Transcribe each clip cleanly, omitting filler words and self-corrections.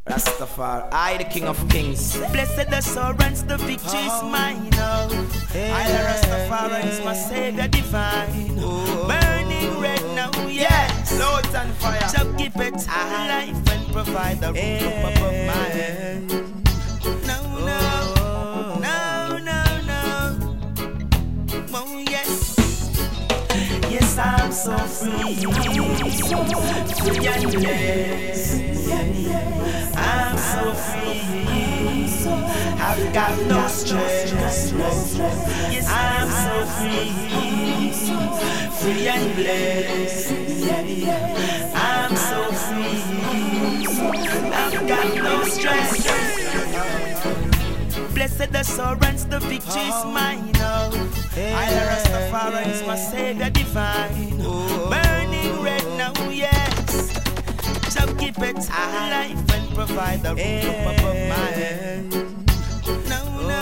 Rastafari, I the King of Kings. Blessed assurance, the victory is mine. I the Rastafari is my Savior divine. Burning red now, yes. Lords and fire. Shall give it life and provide the roof above my head. No. Oh yes. Yes, I'm so free and blessed. I'm so free. I've got no stress. Yes, I'm so free and blessed. I'm so free. I've got no stress. Blessed assurance, the victory is mine. I the Rastafari is my Savior divine. Burning red now, yes. Shall keep it alive and provide the roof above my head. No.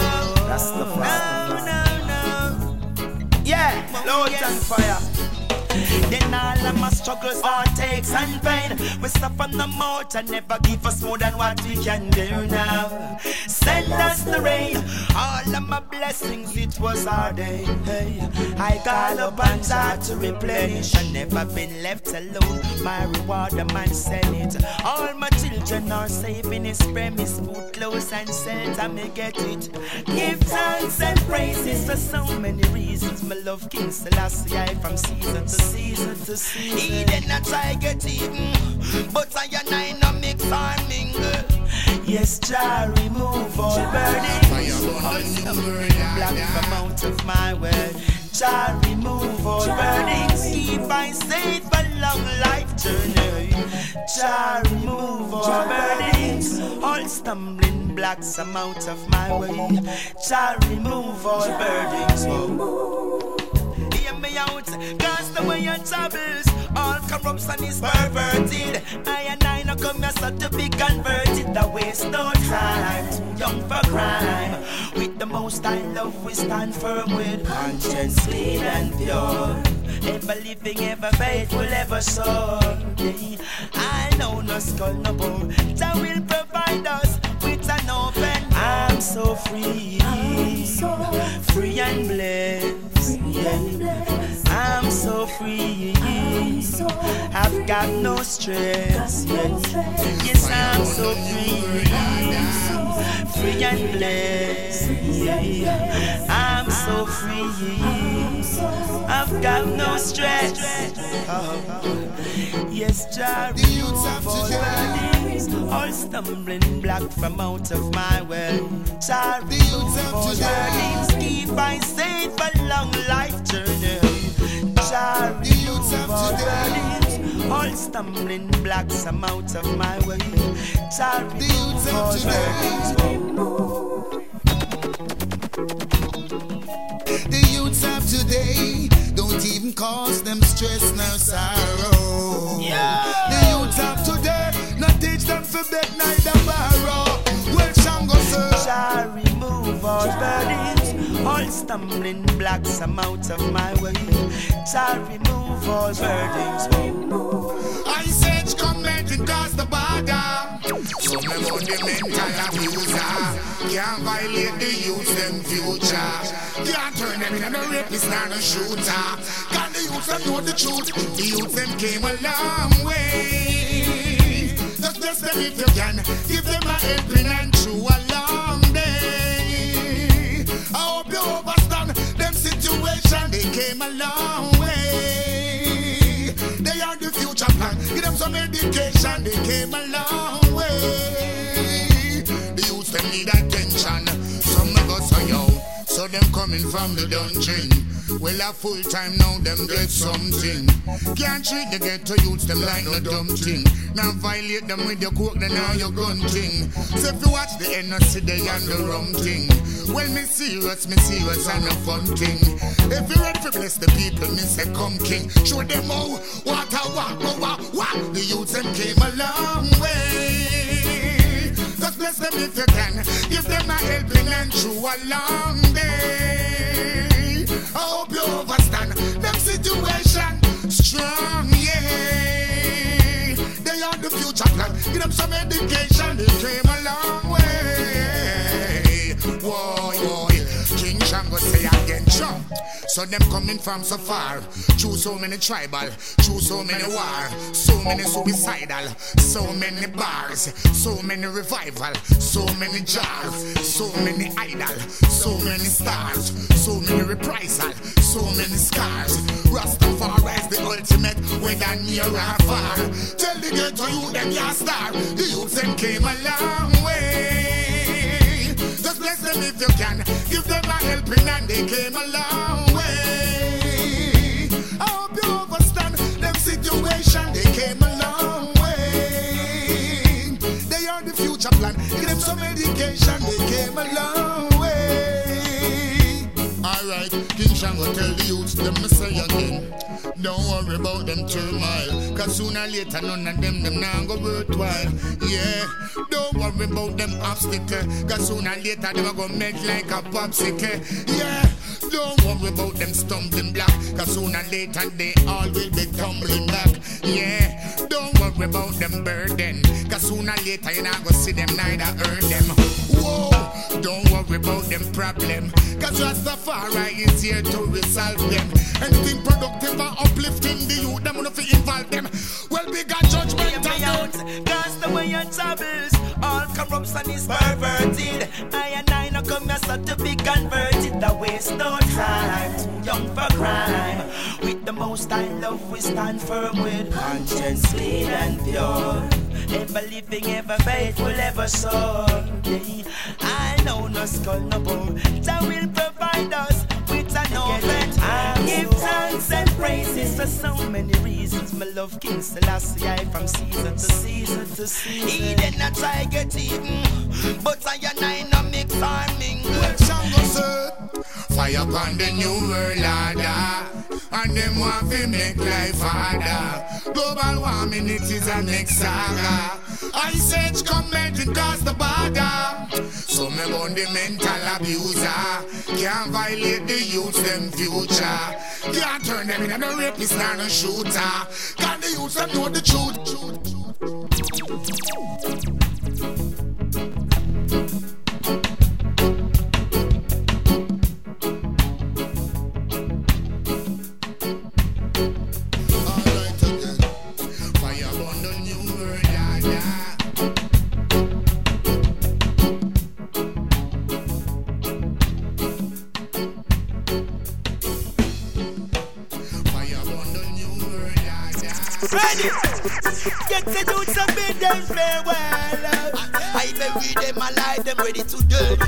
Yeah, Lords and fire. Then all of my struggles, heartaches and pain, we suffer no more and never give us more than what we can do now. Send us the rain, all of my blessings, it was our day. Hey, I call upon God to replenish. I never been left alone, my reward a man send it. All my children are safe in his premise, food, clothes and shelter, me get it. Give thanks and praises for so many reasons. My love King Selassie, I from season to season to season. He did not try get even, but I and I no mix or mingle. Yes, Jah remove all burdens, all suffering, black from out of my way. Jah remove all burdens, keep I safe a long life journey. Jah remove all burdens, all stumbling blocks I'm out of my way. Jah remove all burdens. Hear me out, cast away your troubles. All corruption is perverted. I and I no come here so to be converted. I waste no time, too young for crime. With the most I love we stand firm with conscience clean and pure. Ever living, ever faithful, ever sure. I know no skull, no bone. Jah will provide us with an open. I'm so free, free and blessed. I'm so free. I've got no stress. Yes, I'm so free and blessed. I'm so free. I've got no stress. Yes, Jah remove all burdens, all stumbling block from out of my way. Jah remove all burdens, keep I safe a long life journey. Jah remove all burdens, all stumbling blocks I'm out of my way. Jah remove all burdens. The youths of today don't even cause them stress nor sorrow. The youths of today not teach them to beg neither borrow. Well, Shango sir, Jah remove all burdens, all stumbling blocks I'm out of my way. Jah remove all burdens. I said come let it cross the border. Some of them the mental abuser can't violate the youths them future. Can't turn them into a rapist and a shooter. Can the youths them know the truth? The youths them came a long way. Just bless them if you can. Give them a helping and through a long day. I hope you understand them situation. They came a long way. They are the future plan. Give them some education. They came a long way. The youths them need attention. Some of us are young. So them coming from the dungeon. Well, a full time now, them get something. Can't treat the ghetto youths, them like no dumb thing. Now violate them with your coke, then now your gun thing. So if you watch the NRC, they and the rum thing. Well, me serious and a fun thing. If you ready to bless the people, me say come king. Show them how, what. The youths, them came a long way. Just bless them if you can. Give them a helping and through a long day. I hope you understand them situation strong, yeah. They are the future. future plan. Give them some education, they came a long way. Whoa, King Shango say again, sure. So them coming from so far, through so many tribal, through so many war, so many suicidal, so many bars, so many revival, so many jars, so many idol, so many stars, so many reprisal, so many scars. Rastafari is the ultimate, whether near or far. Tell the ghetto you them your star. The youths them came a long way. Just bless them if you can, give them a helping and they came a long way. I hope you understand them situation, they came a long way. They are the future plan, give them some education, they came a long way. Alright, King Shango tell the youths them me say again. Don't worry about them turmoil, cause sooner or later none of them now go worthwhile. Yeah, don't worry about them obstacle, cause sooner or later them go make like a popsicle. Yeah, don't worry about them stumbling block, cause sooner or later they all will be tumbling back. Yeah, don't worry about them burden, cause sooner or later you not go see them neither earn them. Whoa, don't worry about them problem, cause Rastafari is here to resolve them. Anything productive or uplifting the youth, them wanna involve them. Well, we got judgment on them. Cast away your troubles, all corruption is perverted. I and I no come here so to be converted. The waste no time, too young for crime. With the most I love, we stand firm with conscience clean and pure. Ever living, ever faithful, ever sure. I know no skull, no bone. That will provide us with an open. Give thanks and praises for so many reasons. My love King Selassie, I from season to season to season. He did not try get even, but I and I no mix or mingle. Well, Shango said, fire upon the new world order, and them want to make life harder. Global warming, it is a next saga. Ice Age come melting across the border. So me on the mental abuser can't violate the youths them future. Can't turn them into a rapist and a shooter. Can the youths them know the truth? Get the dudes and bid them farewell. I bury them alive, them ready to do.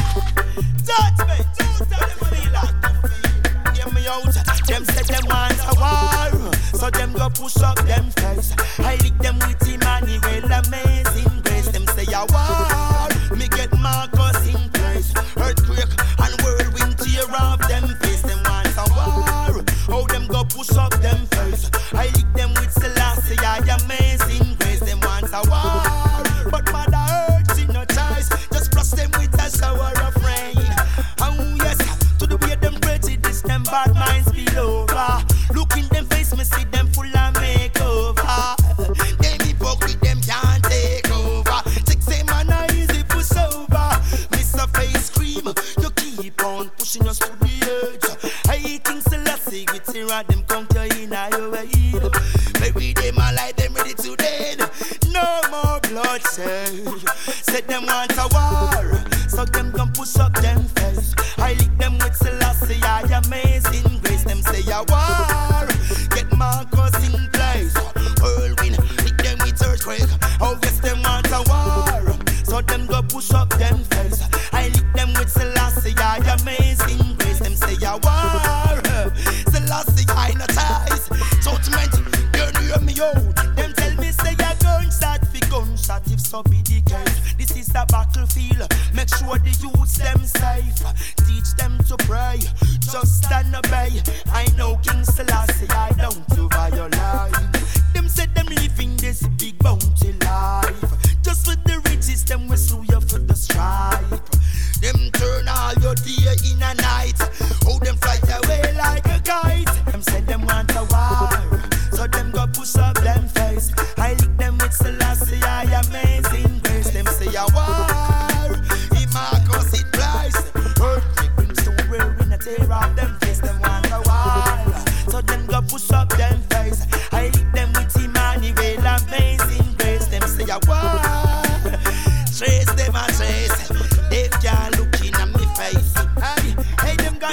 Judgment, tell them what they like to feel. Get me out, them say them want a war, so them go push up them face. I lick them with Emmanuel, amazing grace. Them say a war, me get Marcus in place. Earthquake and whirlwind tear off them face. Them want a war, how them go push up them face. I lick them with Selassie, I amazing grace. Them want a war, but Mother Earth she no choice. Just brush them with a shower of rain. Oh yes, to the way them prejudice, them bad minds spill over. Look in them face, me see them full of makeover. Them hypocrite, them can't take over. Take say man a easy push over. Miss a face cream, you keep on pushing us to the edge. I think Selassie with Sarah, them conquer in your way. Maybe them alive, them ready to dead. No more bloodshed. Said them want a war, so them gon' push up them face. I lick them with Selassie, I amazing grace. Them say a war, get Marcus in place. Whirlwind, lick them with earthquake. Oh yes, them want a war, so them go push up them face. I lick them with Selassie, I amazing grace. Them say a war, Selassie I no ties. Judgment, you hear me out. Them tell me say a gunshot fi gunshot if so be the case. This is a battlefield, make sure the youths them safe. Teach them to pray, just stand obey. I know King Selassie, I don't to violate. Them said them living this big bounty life. Just for the riches, them will sue you for the stripe. Them turn all your day in a night. Oh, them fly away like a kite. Them said them want a war, so them go push up them face. I lick them with Selassie.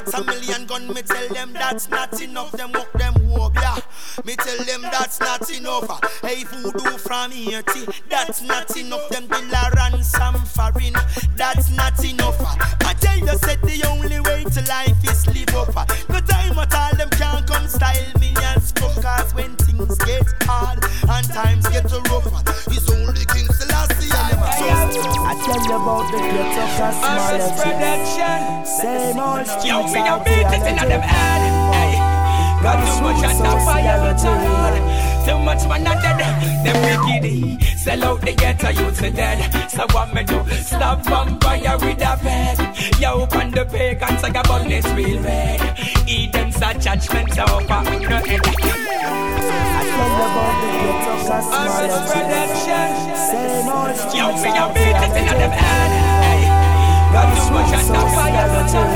shots, a million gun. Me tell them that's not enough. Them walk them hope, yeah. Me tell them that's not enough. Hey, voodoo from Haiti, that's not enough. Them bill a ransom foreign, that's not enough. I tell you, said the only way to life is live up. No time at all, them can't come style me and stuff. Cause when things get hard and times get rough, it's only King Selassie. I tell you about the ghetto cosmology. Same old streets. Yo, me a beat it in them head. Hey, got too much on the fire, too much man a dead. Them wicked, sell out the ghetto youths are dead. So what me do? Stop vampire with a peg. Yo, on the pagans like a bunny real red. Eden's a judgment over no head. I tell you about the ghetto cosmology. Same old streets. Yo, me a beat it in them head. Hey, got too much on the fire,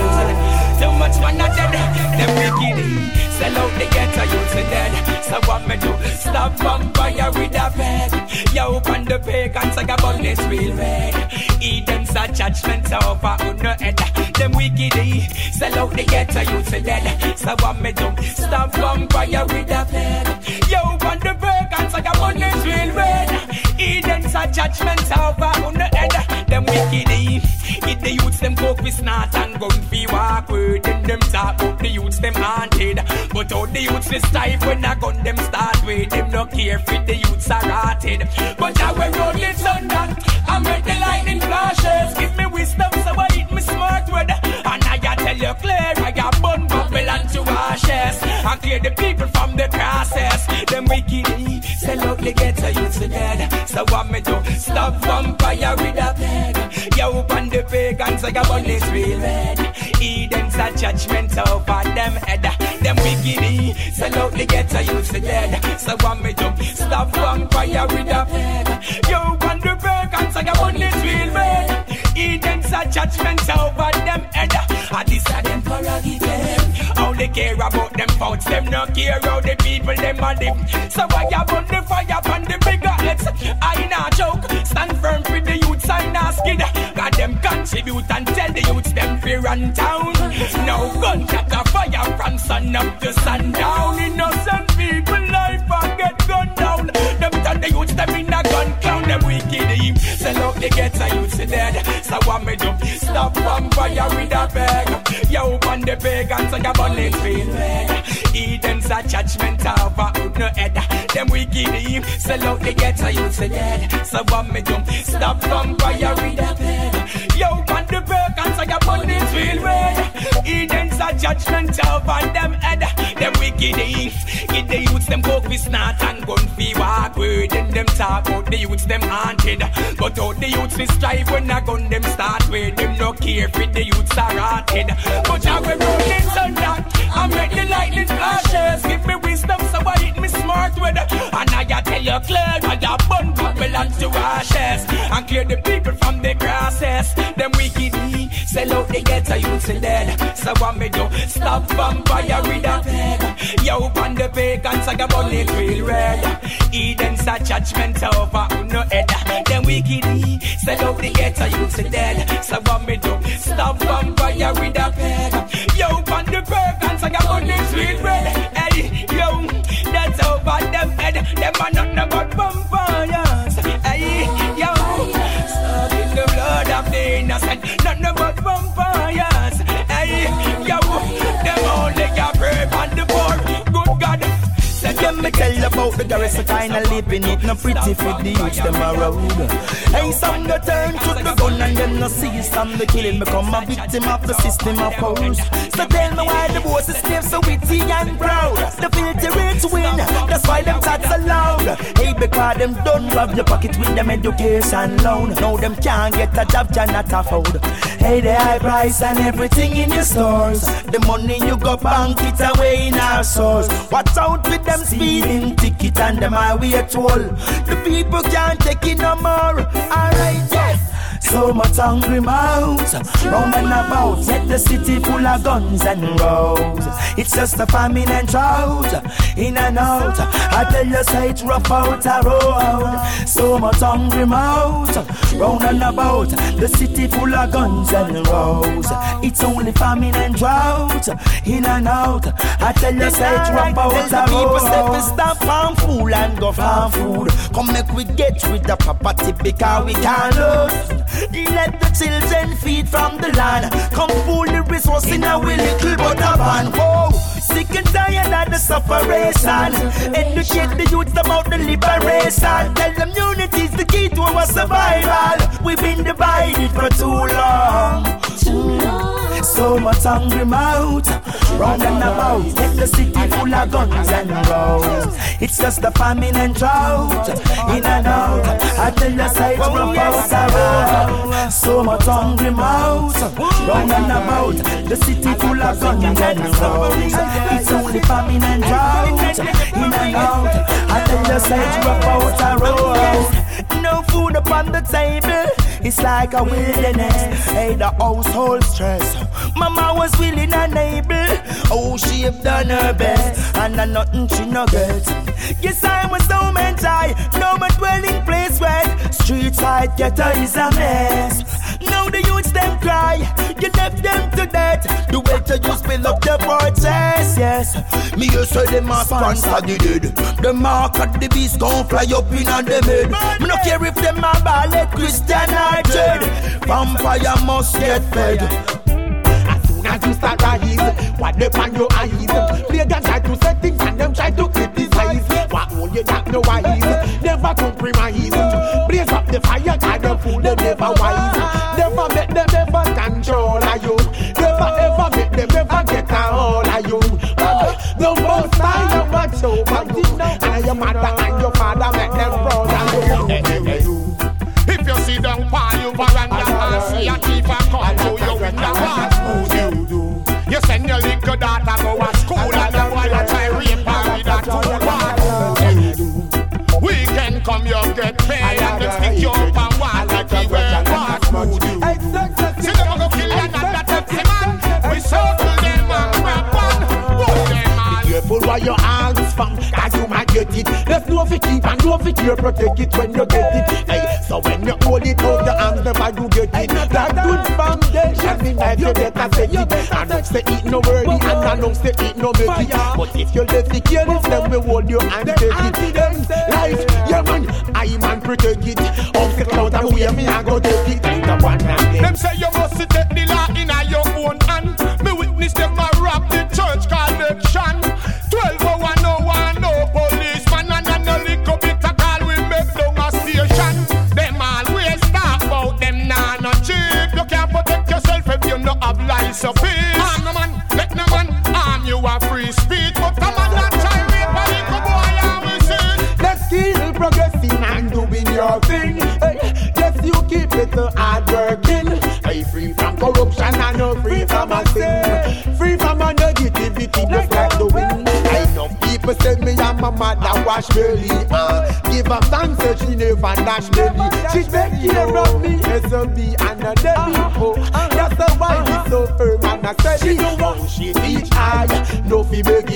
too much man a dead. Them wicked, sell out the ghetto youths are dead. So what me do? Stop vampire with a peg. Yo, on the pagans like a bunny real red. Eden's a judgment over no head. Them wicked, sell out the ghetto youths are dead. So what me do? Stop vampire with a peg. Yo, on the pagans like a bunny real red. Eden's a judgment over no head. Them wicked, if the youths them coke with snot and gun fee walk word. Then them talk about the youths them haunted. But all the youths is stiff when a gun them start with. Them no care if the youths are rotted. But I will roll it thunder. I make the lightning flashes. Give me wisdom so I eat me smart word. And I tell you clear, I got bun Babylon to ashes. I clear the people from the crosses. Them wicked, sell out the ghetto youths are dead. So what me do? Stop vampire with a peg. Yo, on the pagans like a bunny's real red. Eden's a judgment over them head. Them wicked, sell out the ghetto youths are dead. So what me do? Stop vampire with a peg. Yo, on the pagans like a bunny's real red. Eden's a judgment over them head. And this a them prerogative. How they care about them faults, them no care how the people them a live. So why you burn the fire upon the bigger heads? I not joke, stand firm for the youths, I not skid. Got them contribute and tell the youths them fear run town. No gun catch a fire from sun up to sundown. Innocent people life and get gunned down. Them turn the youths them in a gun clown. Them wicked eve, sell out the ghetto youths dead. So what me do? Stop vampire with a bag. Yo, on the pagans like a bunny real red. Eden's a judgment over no head. Them wicked eve, sell out the ghetto youths dead. So what me do? Stop vampire with a bag. Yo, on the pagans like a bunny real red. Eden's a judgment over them head. Them wicked eve, if the youths them coke with snot and gun fee walk word. And them talk about the youths them haunted. But all the youths is strive when a gun them start with. Them no care if the youths are rotted. But I will roll it thunder. I make the lightning flashes. Give me wisdom so I hit me smart with. And I tell you clear, I got bun Babylon to ashes. And clear the people from the grasses. Them wicked, sell out the ghetto youths are dead. So what me do? Stop vampire with a peg. Yo, on the pagans I got bunny real red. Eden's a judgment over no head. Them wicked, sell out the ghetto youths are dead. So what me do? Stop vampire with a peg. Yo, on the pagans I got bunny real red. Hey, yo, that's over them head. Them are nothing but vampires. Hey, yo, stuck in the blood of the innocent. Nothing but vampires. Hey, yo, them only got brave and the poor. Good God. Let me tell you about the garrison kind of living it. No pretty for the youths them around. Hey, some go turn to the gun and them no see some the killing. Become a victim of the system of force. So tell me why the boss is still so witty and proud. The filthy rich win, that's why them tats are loud. Hey, because them don't rob your pocket with them education loan. Now them can't get a job, cannot afford. Hey, the high price and everything in your stores. The money you go bank it away in our source. Watch out with them speeding ticket and them highway toll. The people can't take it no more. Alright, yes. So much hungry mouths round and about, yet the city full of guns and roads. It's just a famine and drought, in and out. I tell you, say it's rough out a road. So much hungry mouths round and about, the city full of guns and roads. It's only famine and drought, in and out. I tell you, say it's rough out a road. People say we stop farm food and go farm food. Come make we get rid of property because we can't lose. Let the children feed from the land. Come pull the resource in a little butter pan. Whoa, sick and tired of the separation. Educate the youth about the liberation. Tell them unity is the key to our survival. We've been divided for too long. So much hungry mouth round and about, get the city full of guns and roads. It's just the famine and drought, in and out. I tell you, say it's rough out around. So much hungry mouth round and about, the city full of guns and roads. It's only famine and drought, in and out. I tell you, say it's rough out around. No food upon the table, it's like a wilderness. Hey, the household stress. Mama was willing and able. Oh, she have done her best, and nothing she no get. Yes, I was so mental. No more dwelling place where street side ghetto is a mess. Now the youths them cry, you left them to death. The way to you spill up the fortress, yes. Me you say them a sponsor the dead. The mark of the beast gon' fly up in on them head. Me no care if them a ballet Christian or dead. Vampire must get fed. As soon as you start rise, what they on your eyes. They can try to say things and them try to criticize. What all you not know wise, never compromise. Blaze up the fire, kind of fool, they never wise. Never make them ever control of you. Never ever make them ever get a hold of you. The most I am watch over you, and your mother and your father make them proud of you. If you sit down by your veranda and see a thief come to your window, what would you do? You send your little daughter go to school and the boy a try rape her with a tool. What would you do? We can come you get paid and them stick you up and walk like you were. What would you do? See them go kill another Pepsi man. We circle them and grab one. Put them all. Be careful where your hands from, cause you might get it. There's no fi keep and no fi care, protect it when you get it. Hey, so when you hold it out the arms, never do get it. That good foundation, me like you better set it. I don't say it no worthy, and I don't say it no make it. But if you let the careless, then we hold you and take it. Life, yeah man, I man protect it. Off the cloud and way me I go take it. The one them say you must take the law in your own hand. Me witness them a rob the church collection. 12:01 no policeman and a little bit of call we make down a station. Them always talk about them nah no cheap. You can't protect yourself if you no have license. Arm no man, let no man arm you a free speech. But come on that try rape a little boy and we see. Let's keep progressing and doing your thing. Hey, just you keep it hard working. Hey, free from corruption and no free from a sin. Free from a negativity just like the wind. I know people say me and my mother wash belly. Give her thanks so she never dash belly. She take care of me, S.O.B. and a Debbie. Oh, that's why we so firm and a steady. She know how she teach I. No fi beggy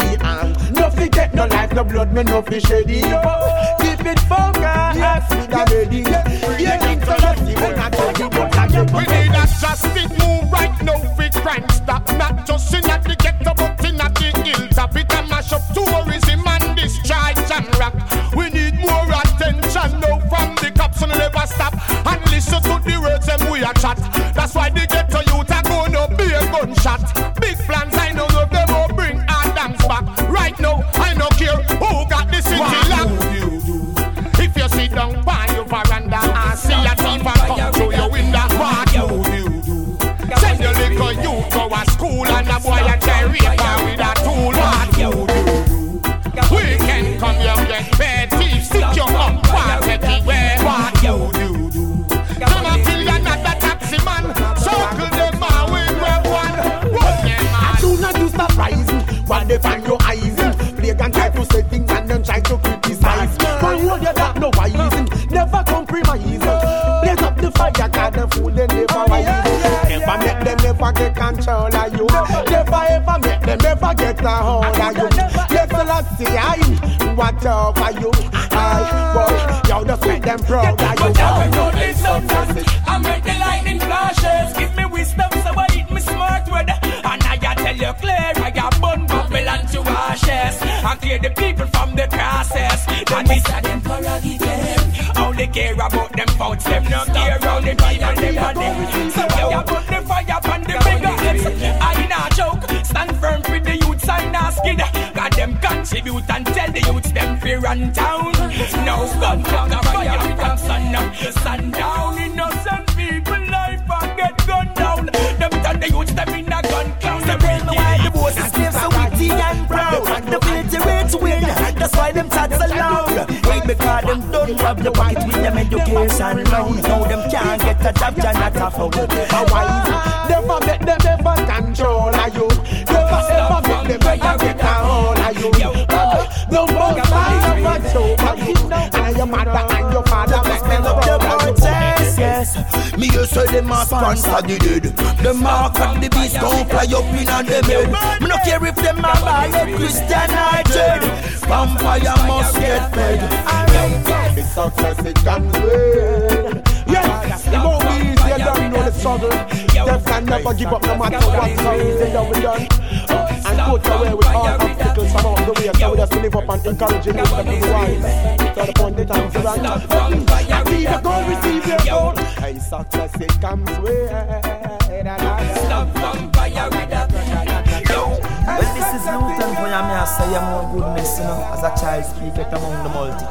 and no fi get no life, no blood, me no fi shady. Keep it focused, yes, with a ready. Yeah, into the sea, when I tell you what I get. We need a justice move right now for crime stop. Not just in at the ghetto, but in at the hilltop. It a mash up tourism and discharge and rock. We need more attention now from the cops and never stop. And listen to the words them we a chat. That's why the ghetto youth are gonna be a gunshot. Big plans, I know of them will bring our dance back. Right now, I don't care who got the city locked. If you sit down by your veranda and see a thief come through your window, what you do? Send your little youth go to school and a boy a try rape her with a tool. What you do? We can come here get paid. Thief stick you up, walk everywhere. What you do? Come and kill another taxi man. Circle them all with one. As soon as you start rising, what they find your eyes in. Play and try to say things and then try to criticize. But hold your back, no wise. Never compromise. Blaze up the fire, God. take control of you. Never ever make them ever get a hold of you. Yes, let's see, I watch over you. Yo, just make them proud of you. But I know this something. I make the lightning flashes. Give me wisdom so I eat me smart word. And I tell you clear, I got bun Babylon to ashes. And clear the people from the crosses. And this are them prerogative. Only care about them faults, them no care around the people, them are them. So I put the fire upon the bigger heads. I not joke, stand firm for the youths, I not skid. Got them contribute and tell the youths them fear run town. No gun, fire from sun up to sundown. Innocent people life and get gunned down. Them turn the youths them in a gun clown. They bring the way the bosses live so witty and proud. The ability to win, that's why them chats are loud. Hate because them don't rob the pocket with them education loan. Now them can't get a job, you're not a fool. Never make them ever control of you. Never ever make them ever get a hold of you. The most I over you. And your mother and your father make them proud of you. Yes, me you say them a sponsor the dead. The mark and the beast don't fly up in on them head. Me no care if them a buy a Christian or dead. Vampire must get fed. The success it comes with. Yes, it won't be easy, you don't know the struggle. Death can never give up no matter what comes, they know we done. And put away with all obstacles from out the way. So we just live up and encourage you to be wise. So the point the time's around. And see you go receive your gold. And success it comes with. Stop vampire with a Well, this is Luton for you, I say more goodness, you know, as a child speaketh among the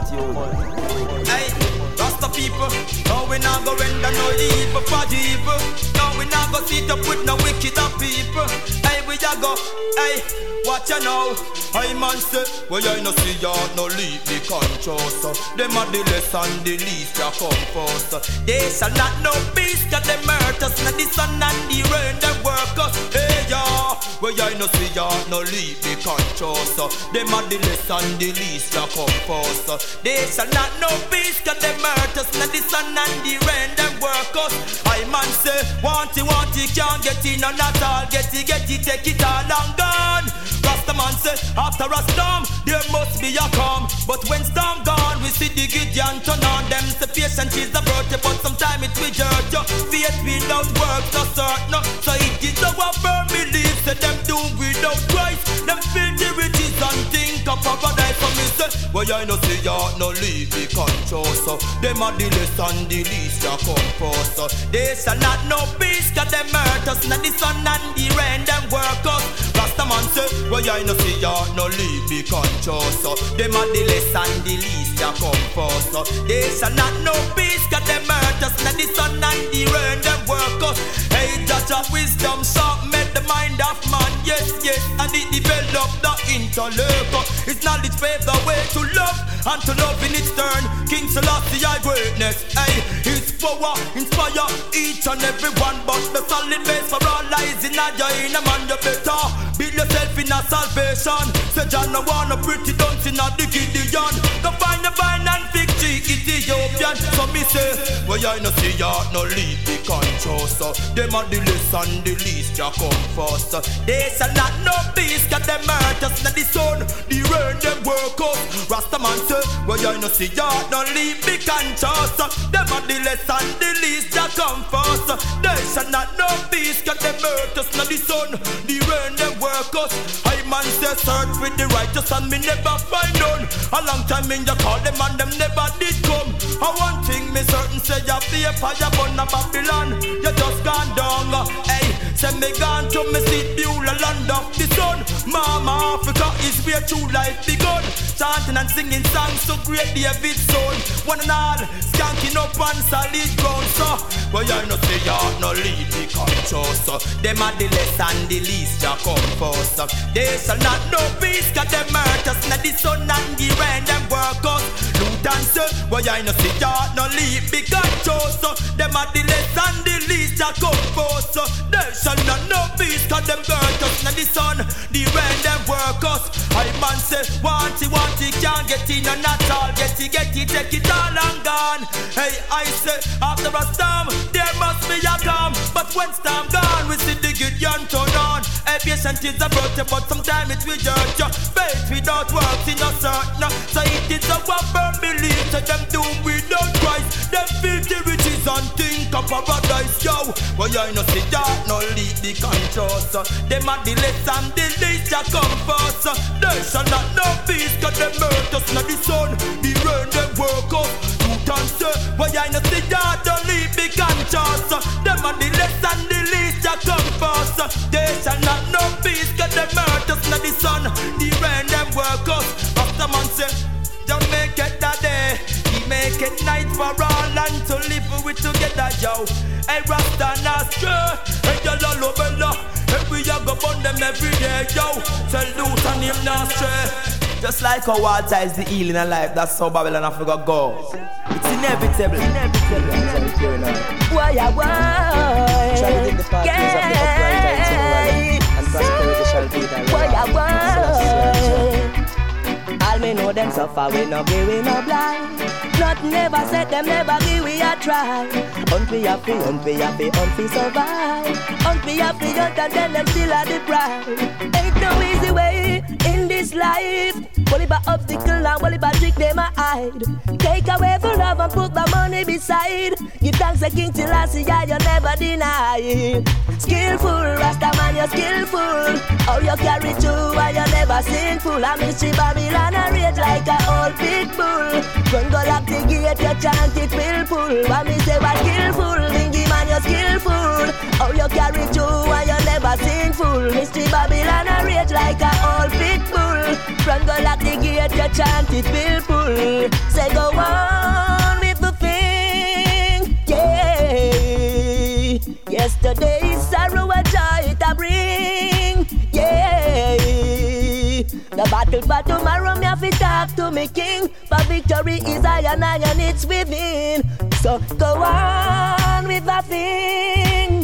multitude. Hey, Rasta people, now we not go render no evil for evil. Now we not go sit up with no wicked people. Hey, we a go, hey, watch you now. I man say, well I no see ya no leave the conscious. Them are the less and the least ya come first. They shall not know peace, cause them hurt us. Not the sun and the rain, them work us. Hey ya, well I no see ya no leave the conscious. Them are the less and the least ya come first. They shall not know peace, cause them hurt us. Not the sun and the rain, them work us. I man say, want it, can't get it, none at all. Get it, take it all and gone. Rasta man say, after a storm, there must be a calm. But when storm gone, we see the Gideon turn on. Them say patience is the virtue, but sometimes it will hurt you. Faith without work, no certain. So it is our firm belief, say them doom without Christ. Them filthy riches and think of paradise. For me say, well I no see ya no leave the conscious. Them are the less and the least ya come first. They shall not know peace, cause them hurt us. Not the sun and the rain, them work us. Rasta man say, well I no see ya no leave the conscious. Them are the less and the least ya come first. They shall not know peace, cause them hurt us. Not the sun and the rain, them work us. Hey, judge of wisdom, sharp made the mind of man. Yes, and it develop the intellect. It's knowledge pave the way to love, and to love in its turn. King Selassie I greatness. Hey, his power inspire each and every one. But the solid base for all lies in a man, you better build yourself in a salvation. Say John no wanna pretty dunce in a the Gideon. Go find the vine and fig tree Ethiopian. So me say, well I no see ya no leave the conscious. Them are the less and the least ya come first. They shall not know peace, cause them hurt us. Not the sun, the rain, them work up. Rasta man say, well I no see ya no leave the conscious. Them are the less and the least ya come first. They shall not know peace, cause them hurt us. Not the sun, the rain, them work us. I man say search with the righteous and me never find none. A long time in you call them and them never did come. And one thing me certain say you be a fire burn a Babylon. You just gone down. Hey, say me gone to me see Beulah land of the sun. Mama Africa is where true life begun. Chanting and singing songs so great David's son. One and all skanking up on solid ground. So well I no say you no leave the conscious. Them are the less and the least ya come first. They shall not know peace, cause them hurt us. Not the sun and the rain, them work us. Luton say, well I no see ya no leave the conscious. Them are the less and the least ya come first. They shall not know peace, cause them hurt us. Not the sun, the rain, them work us. I man say, want it, can't get it, none at all. Get it, take it all and gone. Hey, I say, after a storm, there must be a calm. But when storm gone, we see the good patient is a virtue, but sometimes it will hurt you. Faith without works in a certain. So it is a firm belief that them do without Christ. Them filthy riches and think of paradise, yo. Well, I know see that no lead the conscious. Them are the less and the least that come first. They shall not know peace, cause them hurt us, not the sun. The rain, them work up. You can say, well, I know see that no lead the conscious. Them are the less and the least that come first. They shall not know peace, cause them hurt us, not the sun. The rain, them work up. After man say, don't make it that day. He make it night for all and to live with together, yo. Hey, Rasta Nastra, hey, Yellow Bella. Hey, we a go burn them every day, yo. Salute and him Nastra. Just like how water is the healing of life, that's how Babylon Africa goes. It's inevitable. Why, why? Try to give the parties of the upright and to the right, and prosperity shall be thy why? All me know them suffer, we no give, we no blind. Nothing never said them never give, we a try. Unfi happy, unfi survive. Unfi happy, and then them still a deprived. Ain't no easy way in this life. Only by obstacle and only by trick them a hide. Take away the love and put the money beside. Give thanks to King till I see ya, you never deny. Skillful, Rasta man, you're skillful. How you carry through and you never sinful. I miss you Babylon and rage like a old pit bull. Run go lock the gate, you chant it will pull. I miss you are skillful, Bingy man, you're skillful. How you carry through and you never sinful. Mystery Babylon and rage like a old pit bull. Run go lock the gate, you chant it will pull. Say go on with the thing, yeah. Yesterday's sorrow and joy it a bring, yeah. The battle for tomorrow me have to talk to me king. For victory is I and it's within. So go on with the thing,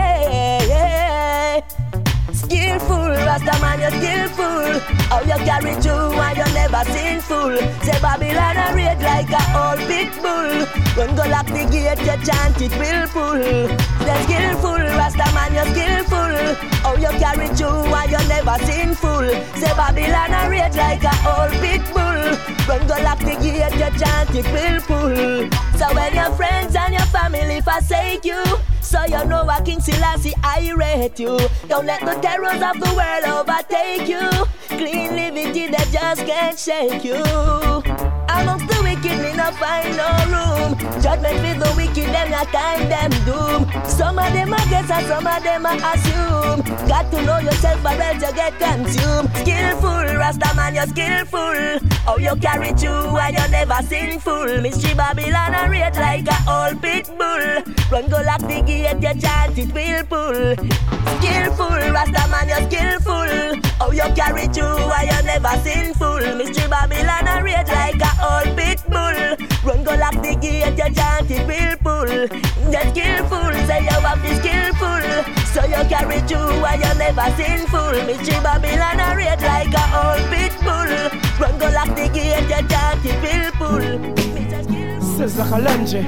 yeah. Skillful, Rasta man, you're skillful. How you carry through and you never sinful. Say Babylon a rage like a old big bull. When go lock the gate, you chant it will pull. Say skillful, Rasta man, you're skillful. How you carry through and you never sinful. Say Babylon a rage like a old big bull. When go lock the gate, you chant it will pull. So when your friends and your family forsake you, so you know what King Selassie I rate you. Don't let the terrors of the world overtake you. Clean liberty that just can't shake you. Amongst the wicked me not find no room. Judgment with the wicked them not time them doom. Some of them are guess and some of them are assume. Got to know yourself or else you get consumed. Skillful, Rasta man you're skillful. How you carry through and you never sinful. Mystery Babylon a rate like a old pit bull. Run go lock the gate, you chant it will pull. Skillful, Rasta man you're skillful. How you carry through and you never sinful. Mystery Babylon a rate like a old pit bull. Run go lock the gate, you chant it will pull. You're skillful, say you have to skillful. So you carry through and you never sinful. Mystery Babylon a rate like a old pit bull. Run go lock the gate, you chant it will pull. Sister Kalenji.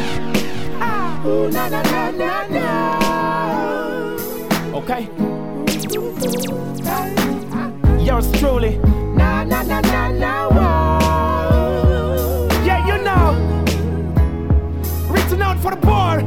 Oh, na na na na na. Okay. Yours truly. Na na na na na. Whoa. Yeah, you know. Reaching out for the poor.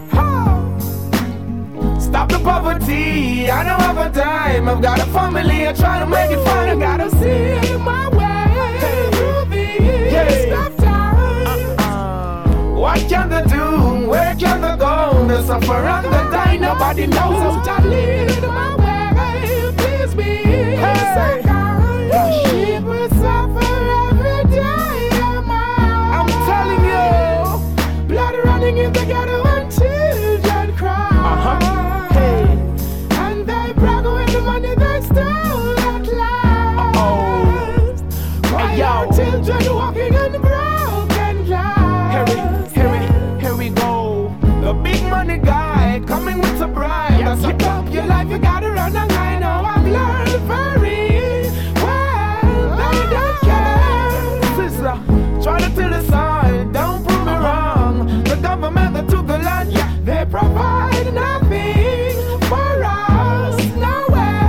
Stop the poverty. I don't have a dime. I've got a family. I try to make it fun. I gotta see my way through these tough times. What can they do? Where can they go? They suffer and they die. Nobody knows. I lead my way. Please be so kind. People suffer every day. I'm telling you. Blood running in the ghetto and children cry. Hey. And they brag with the money they stole at last. Why are children walking on broken glass? Here we go. The big money guy coming with a bribe. That's a top your life, you gotta run a line. Now I've learned very well. They don't care. Sister, try to till the side. Don't prove me wrong. The government that took the land, They provide nothing for us, nowhere.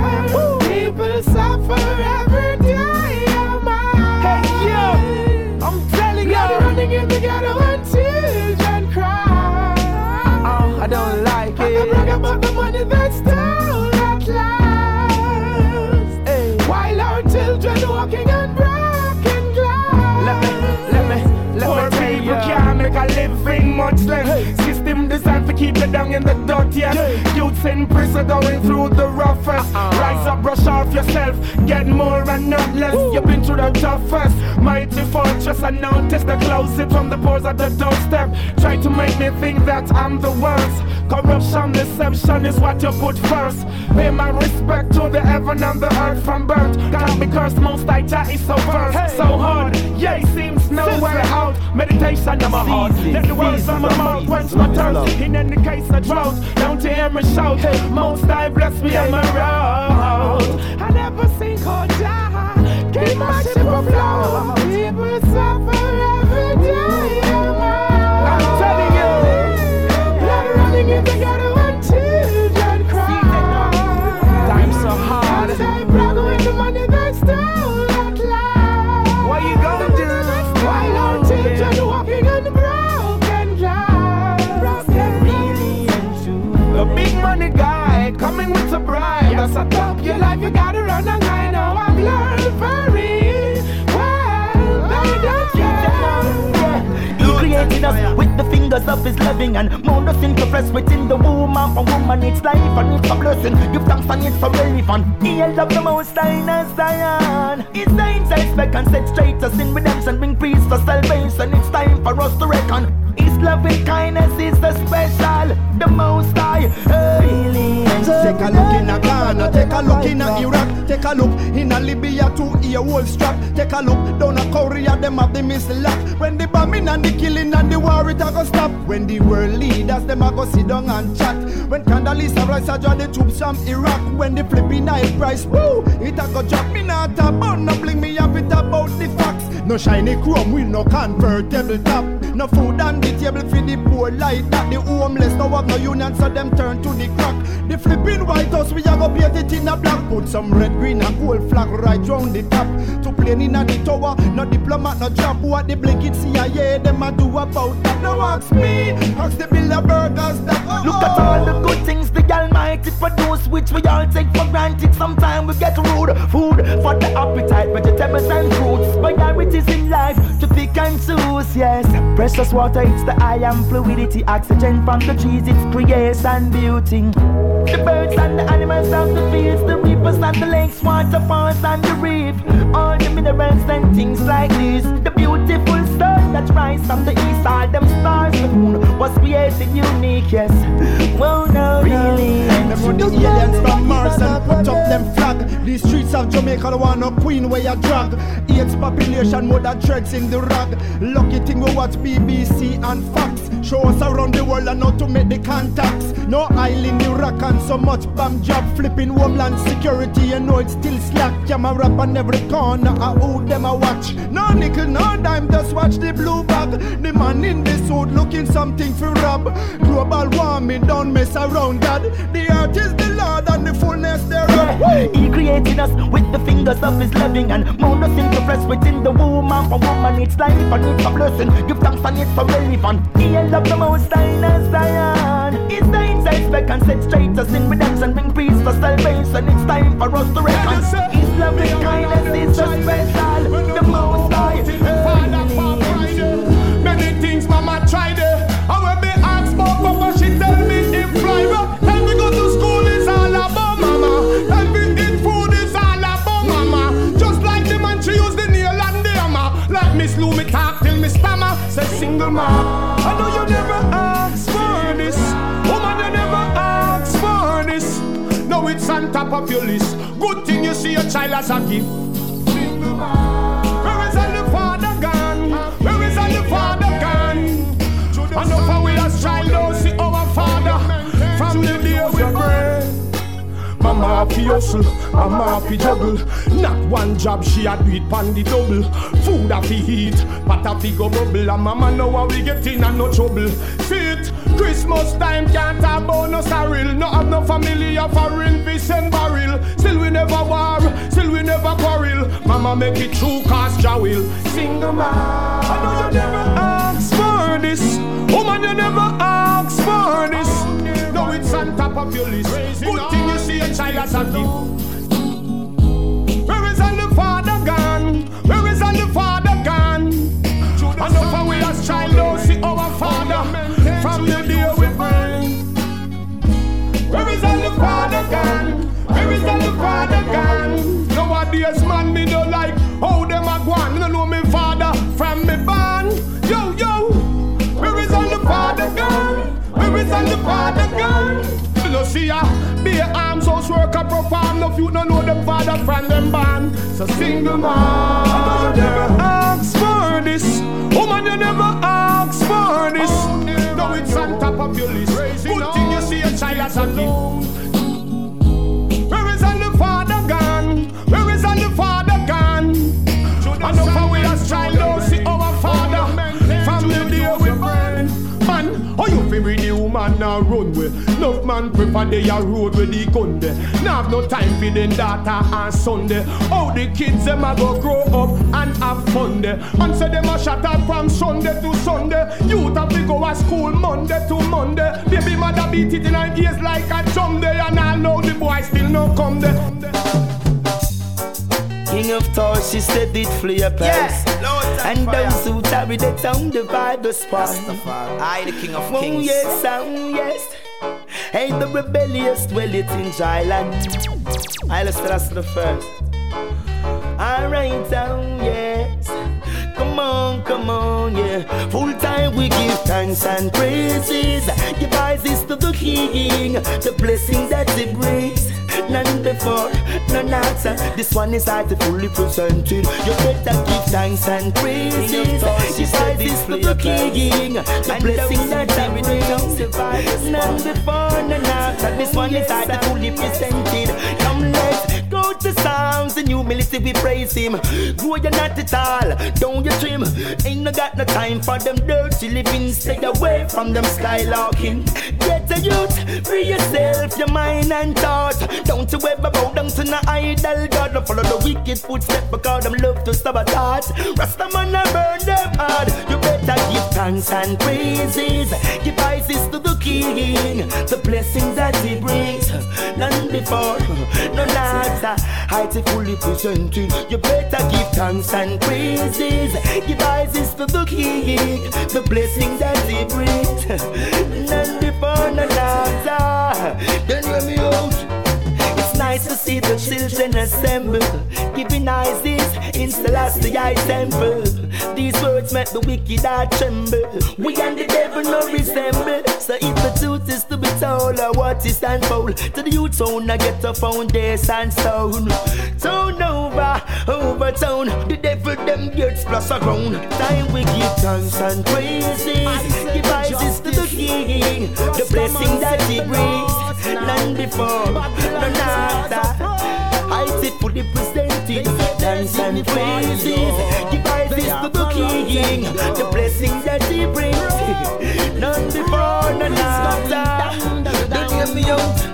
about the money that's stole at last. Hey. While our children walking on broken glass. Let me tell you, can't make a living much less. Hey. System designed to keep you down in the dirt, yes. Yeah. Youths in prison going through the roughest. Rise up, brush off yourself, get more and not less. You've been through the toughest. Mighty fortress, I notice the closet from the pores at the doorstep. Try to make me think that I'm the worst. Corruption, deception is what you put first. Pay my respect to the heaven and the earth from birth. Can't be cursed, most I is so versed, so hard. Yeah, it seems nowhere out. Meditation on my heart. Let the words on my mouth quench my thirst. In any case of drought, don't you hear me shout? Most I bless me on my road. I never seen cold down. Keep my ship afloat. People suffer every day. I'm telling you, blood running in the ghetto and children cry. Time's so hard. As I brag with the money that's stole at last. What you gonna do? While our children walking on the broken glass. Really and true. A big money guy coming with a bride. That's a top your life, you gotta run and I know I've learned very well. They don't care. He created us with the fingers of his loving and mold us into flesh within the womb of a woman. It's life and it's a blessing. Give thanks and it's so relevant. He held up the most high in Zion. His saints expect and set straight us in redemption. Bring peace for salvation. It's time for us to reckon. His loving kindness is the special, the most high. Really. Take a look in Ghana, take a look in Iraq, take a look in Libya to ear wolf strap. Take a look down a Korea, them have the missile lock. When the bombing and the killing and the war it a go stop. When the world leaders them a go sit down and chat. When Condoleezza Rice a draw the troops from Iraq. When the flipping oil price, woo, it a go drop. Me not about no bling, me have it about the facts. No shiny chrome, we no convertible top. No food on the table for the poor like that. The homeless no have no union, so them turn to the crack. The flipping White House, we a go paint it in a black. Put some red, green and gold flag right round the top. To plane in a the tower, no diplomat, no job. What the blinking CIA, them a do about that. No ask me, ask the Bilderbergers that. Look at all the good things the Almighty produce, which we all take for granted. Sometimes we get rude. Food for the appetite, vegetables and fruits. Priorities in life to pick and choose, yes. Precious water, it's the iron fluidity. Oxygen from the trees, it's creation beauty. The birds and the animals of the fields, the rivers and the lakes, waterfalls and the reef. All the minerals and things like this. The beautiful stars that rise from the east. All them stars, the moon was created unique, yes. Well, no, really. Them run the aliens from Mars and put up them flag. The streets of Jamaica don't want no queen where you drag. AIDS population more than dreads in the rag. Lucky thing we watch BBC and Fox. Show us around the world and how to make the contacts. No island in Iraq and so much bomb job. Flipping homeland security, you know it's still slack. Camera up on every corner, I owe them a watch. No nickel, no dime, just watch the blue bag. The man in the suit looking something for rob. Global warming, don't mess around, God. The earth is the Lord and the fullness thereof. He created us with the fingers of his loving and mold us into flesh within the womb of a woman. It's life and it's a blessing. Give thanks and it's so relevant. He held up the most high in Zion. His saints expect and set straight us in redemption. Bring peace for salvation. It's time for us to reckon. His loving kindness is so special, the most high. Many things mama tried it. I will be asked for Papa, she tell me in private. Time we go to school is all about mama. Time we eat food is all about mama. Just like the man she use the nail and the hammer. Like Miss Lou me talk till me stammer. Say single mom, I know you never asked for this. Woman you never asked for this. Now it's on top of your list. Good thing you see your child as a gift. Single mom, where is all the father gone? Where is all the father gone? I know for we as child don't see our father. From the day we pray. Mama happy hustle, mama happy juggle. Not one job, she had do it pan the double. Food happy eat, pot happy go bubble. And mama know how we get in and no trouble. See it, Christmas time can't have bonus a real. No have no family of a real fish and barrel. Still we never war, still we never quarrel. Mama make it true cause Jah will. Single man, I know you never asked for this. Woman you never asked for this. No it's on top of of your list. Good thing you see a child as a gift. Where is all the father gone? Where is all the father gone? Enough of we as child don't see our father from the day we born. Where is all the father gone? Where is all the father gone? Nowadays man me don't like how them a gone. Me don't know me father from me born. Yo yo, where is all the father gone? Where is all the father gone? You know see ya, be a arms house worker perform. No you don't know them father from them born. So single man, you never ask for this. Woman you never ask for this. No it's on top of your list. Good thing you see a child as a gift. Where is all the father gone? Where is all the father gone? Enough of we as child don't see our father from the day we born. Man, how you feel with the woman now run with? Enough man prefer they a road with the gun there. Now have no time for them daughter and son there. How the kids them a go grow up and have fun there. And say them a shut up from Sunday to Sunday. Youth have to go to school Monday to Monday. Baby mother beat it in her ears like a drum there. And I know the boy still no come there. King of Thoughts, she said it flee a pass. And those who tarry the town divide the spot. I the King of Kings. Oh yes, oh yes. Hey, the rebellious dwell it in Thailand. I let's tell us the first. Alright, oh yes. Come on, yeah. Full time we give thanks and praises. Give praises to the King, the blessing that He brings. None before, none after. This one is fully presented. You better give thanks and praises. Give praises to the King, the blessing that He brings. None before, none after. This one is fully presented. Come let's go to Psalms in humility we praise Him. Grow you not at all, don't you trim. Ain't no got no time for them dirty living. Stay away from them skylarking. Get a youth, free yourself, your mind and thought. Don't you ever bow down to no idol God. Don't follow the wicked footsteps because them love to sabotage. Rastaman a burn them hard. You better give thanks and praises. Give praises to the King, the blessings that He brings. None before, none after. Heights fully presented. You better give thanks and praises. Give praises to the King, the blessing that He brings. None before, none after. Don't hear me out. It's nice to see the children assemble, giving praises in Selassie temple. These words make the wicked heart tremble. We and the devil no resemble. So if the truth is to be told, or what is stand for, to the youth zone I get a foundation stone. Turn over, overturn the devil them gets plus a ground. Time we give thanks and praises. Give praises to the King, the blessing that He brings. None before, none after. I sit fully presented. Thanks and praises. Give praises to the King, the blessing that He brings. None before, none after. Don't hear me out.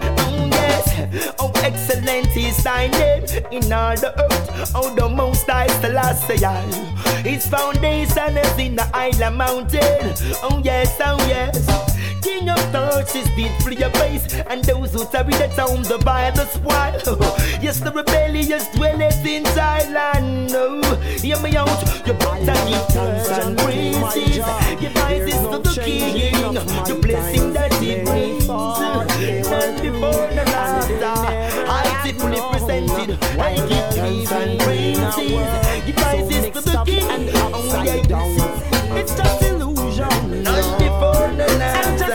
Oh, excellent is Thy name in all the earth. Oh, the Most High Selassie. His foundation is in the island mountain. Oh yes, oh yes. King of Thoughts is deep for your face, and those who tarry the town divide the spoil. Yes, the rebellious dwelleth in Thailand. Oh, hear me out. You better give thanks and praises. Give praises to the King, the blessing that He brings. None before, none after. I see fully presented. I give thanks and praises. Give praises to the King. Oh yeah, it's just illusion. None before, none after.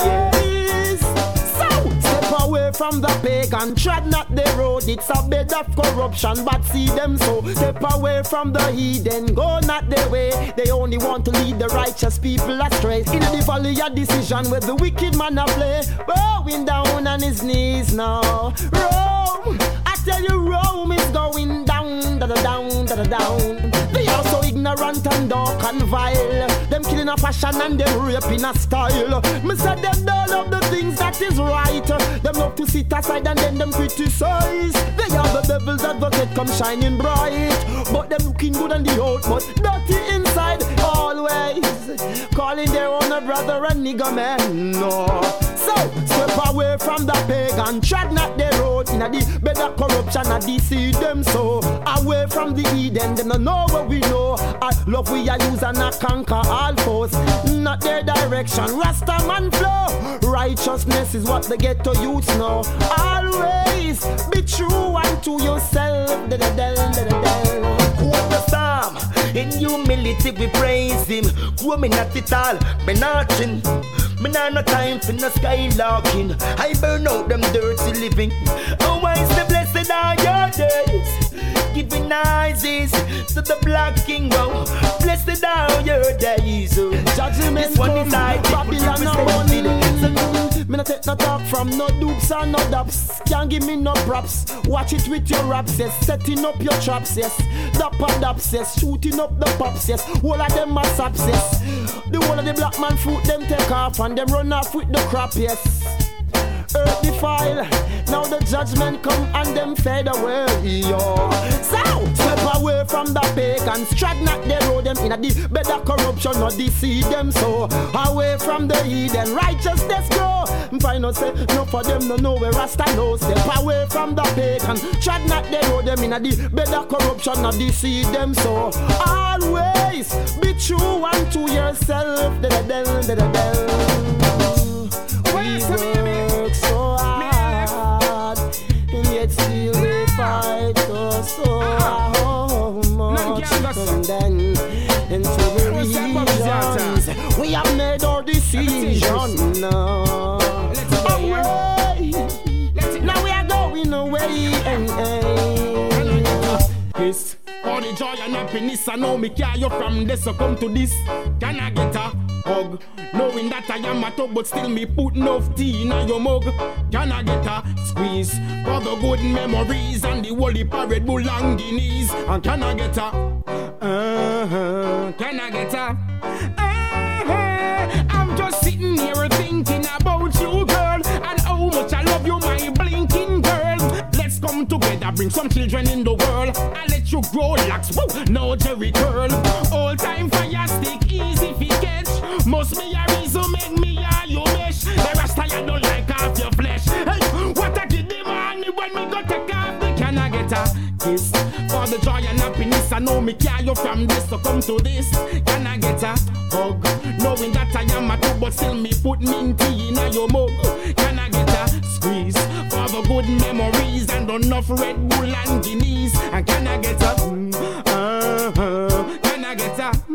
From the pagan, tread not the road, it's a bed of corruption, but see them so. Step away from the heathen, go not their way. They only want to lead the righteous people astray. In the valley of decision where the wicked man a play, bowing down on his knees now. Rome, I tell you Rome is going down, down, down. They are so ignorant and dark and vile. Them killing a passion and them raping a style. Me said them don't love the things that is right. Them love to sit aside and then them criticize. They are the devil's advocate come shining bright, but them looking good on the out but dirty inside. Always calling their own a brother and nigger man. No. So step away from from the pagan, tread not the road. In the bed of corruption, I deceive them so. Away from the Eden, them don't know what we know. I love we are use and not conquer all foes. Not their direction, Rasta man flow. Righteousness is what they get to use now. Always be true unto yourself. Quote the psalm. In humility we praise him. Grow me not it all, me nothing. Me nah no time for no skylarking. I burn out them dirty living. Oh, why is the blessed are your days? Giving eyes to the black king. Oh, blessed are your days. Oh. Judgment this one come, is like Babylon no money. Me no take no talk from no dupes and no daps. Can't give me no props. Watch it with your raps, yes. Setting up your traps, yes. Dapper daps, yes. Shooting up the pops, yes. All of them are saps, yes. The whole of the black man fruit them take off and them run off with the crop, yes. Earth defile, now the judgment come and them fade away, yo. So, step away from the pagans, tread not the road, them in a the bed of corruption, not deceive them so. Away from the Eden, righteousness grow. Find us say, no for them no know where Rasta knows. Step away from the pagan, tread not the road, them in a the bed of corruption, not deceive them so. Always be true unto yourself. We work so hard, and yet still we fight so much. And then into the regions, we have made our decision now. Now we are going away. Yes. All the joy and happiness, I know me carry you from this, so come to this. Can I get a hug? Knowing that I am a top, but still me put enough tea in your mug. Can I get a squeeze for the good memories and the holy Red Bull and Guineas? And can I get a can I get a I'm just sitting here thinking about you, girl, and how much I love you, my blinking girl. Let's come together, bring some children in the world. I let you grow lax, woo, no Jerry curl. All time fire stick, easy fi catch. Must be a reason make me a you mesh. The rest I don't like half your flesh. Hey, what I give them money when me go take off the can I get a kiss? For the joy and happiness, I know me carry you from this, so come to this. Can I get a hug? Knowing that I am a two, but still me put minty in your mug. Can I get a squeeze for the good memories and enough Red Bull and Guineas? And can I get a can I get a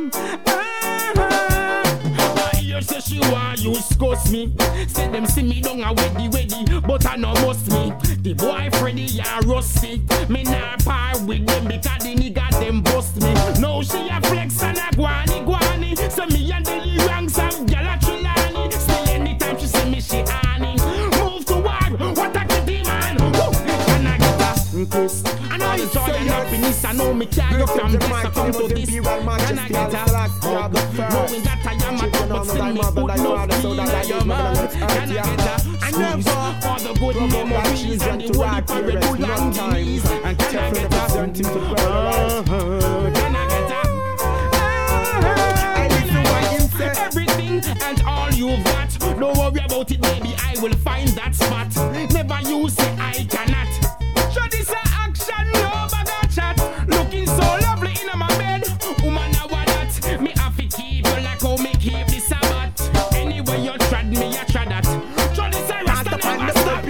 say she want you scuss me. Say them see me down a weddy, but I no must me. The boy Freddy and Rusty, me nah par with them because the nigga them bust me. Now she a flex and a guani. So me and the ranks of gyal a Trelawney. Still anytime she see me she honey. Move toward what a kitty man. Can I get a kiss? I know the joy and happiness, I know me carry from this, I come to this. Can I get a hug? Knowing that I am a top, but still me put no feel in your mouth. Can I get a squeeze for the good memories and the holy Red Bull and Guineas? And can I get a can I get a everything and all you've got? Don't worry about it, baby, I will find that spot. Never you say I cannot. Show this a action, no bag of chat. Looking so lovely in my bed. Woman, I want that. Me have to keep you like how me keep the Sabbath. Anyway, you trad me, I trad that. Show this a rasta, never stop.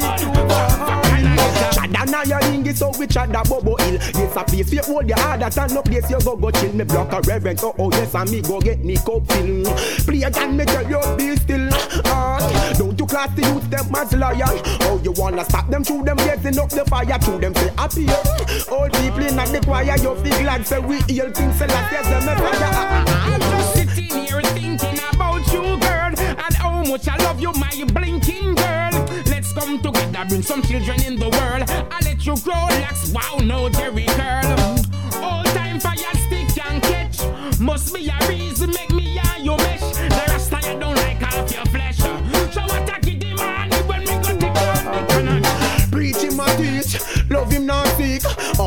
Chada now your ring is so we chada bobo ill. Yes, a place you hold your heart, and no place you go chill. Me block a reverend, oh yes, and me go get me cup fill. Play again, me tell you be still. Don't you class the youth them as lion? Oh, you wanna stop them through them getting up the fire through them say appear. All people in the choir, you feel glad say we heal things say like yes, them I'm just sitting here thinking about you, girl, and how much I love you, my blinking girl. Let's come together, bring some children in the world. I let you grow lax, wow, no Jerry curl. All time fire stick can catch. Must be a reason make me a you mesh. The rest I don't like half your flesh. So what I give him money when we go take off the cannon. Preach him a teach, love him not sick. Oh, and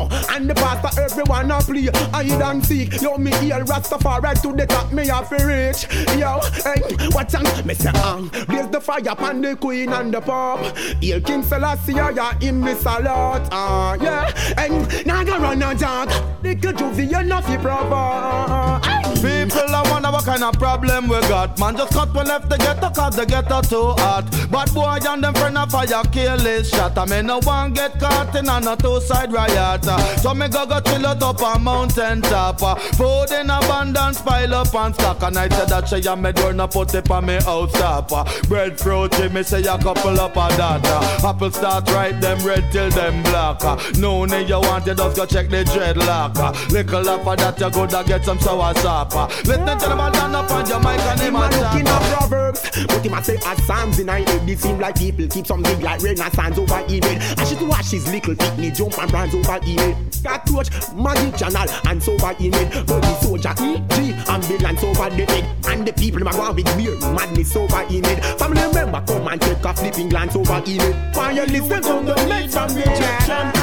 and the pastor, everyone a play. I don't seek, yo, me heal Rastafari to the top, me have to reach. Yo, hey, what's on? Me say, blaze the fire upon the queen and the pop. Hail King Selassie, yeah, in me salute. Yeah, and now go run a jog. Little juvie, you know fi proper. People, I wonder what kind of problem we got. Man, just cut we left the ghetto, cause the ghetto too hot. But boy and them friend of fire kill this shot. I mean, no one get caught in a two-side riot. So me go chill out up on mountain top. Food in abundance, pile up and stock. And I said that she and me door no put it on me house top. Breadfruit, me say a couple up of that. Apple start right, them red till them black. No need you want, you just go check the dreadlock. Little up of that, you go to get some sour sap. Let them tell about stand up on your mic and him a looking at Proverbs, but him a say as Psalms in I head. It seem like people keep some big like Renaissance over email. And she to watch his little picnic jump and brands over email. Got coach, Magic Channel and so over email. But the soldier, G, ambulance over the head. And the people them a go with beer, madness over email. Family member come and take a flipping glance over email. Why you listen to the next from rejection?